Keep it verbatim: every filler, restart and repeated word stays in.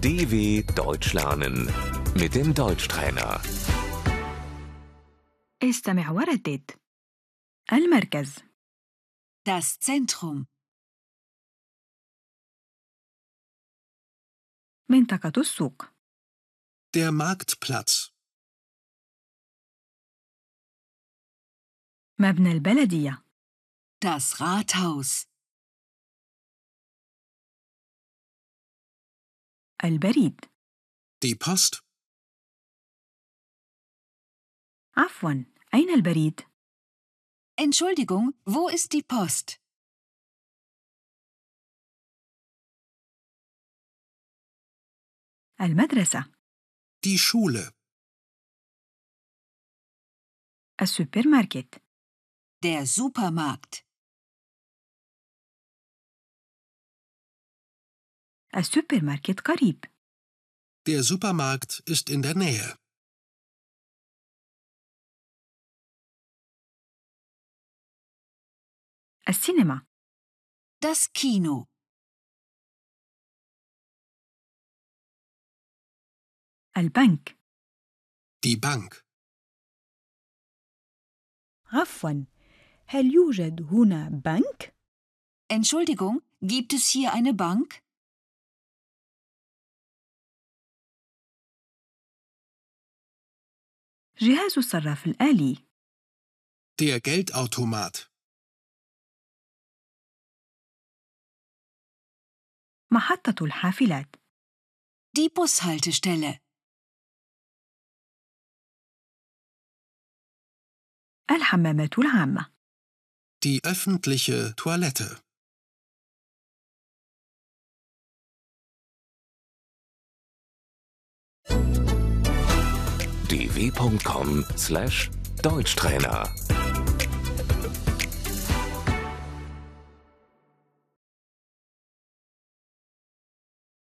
D W Deutsch lernen mit dem Deutschtrainer. استمع وردد. المركز. Das Zentrum. منطقة السوق. Der Marktplatz. مبنى البلدية. Das Rathaus. البريد. Die Post. عفواً، أين البريد؟ Entschuldigung, wo ist die Post? المدرسة. Die Schule. السوبر ماركت. Der Supermarkt. السوبر ماركت قريب. Der Supermarkt ist in der Nähe. السينما. Das Kino. البنك. Die Bank. عفواً، هل يوجد هنا بنك؟ Entschuldigung, gibt es hier eine Bank? جهاز الصراف الآلي. Der Geldautomat. محطة الحافلات. Die Bushaltestelle. الحمامات العامة. Die öffentliche Toilette. d w punkt com slash Deutschtrainer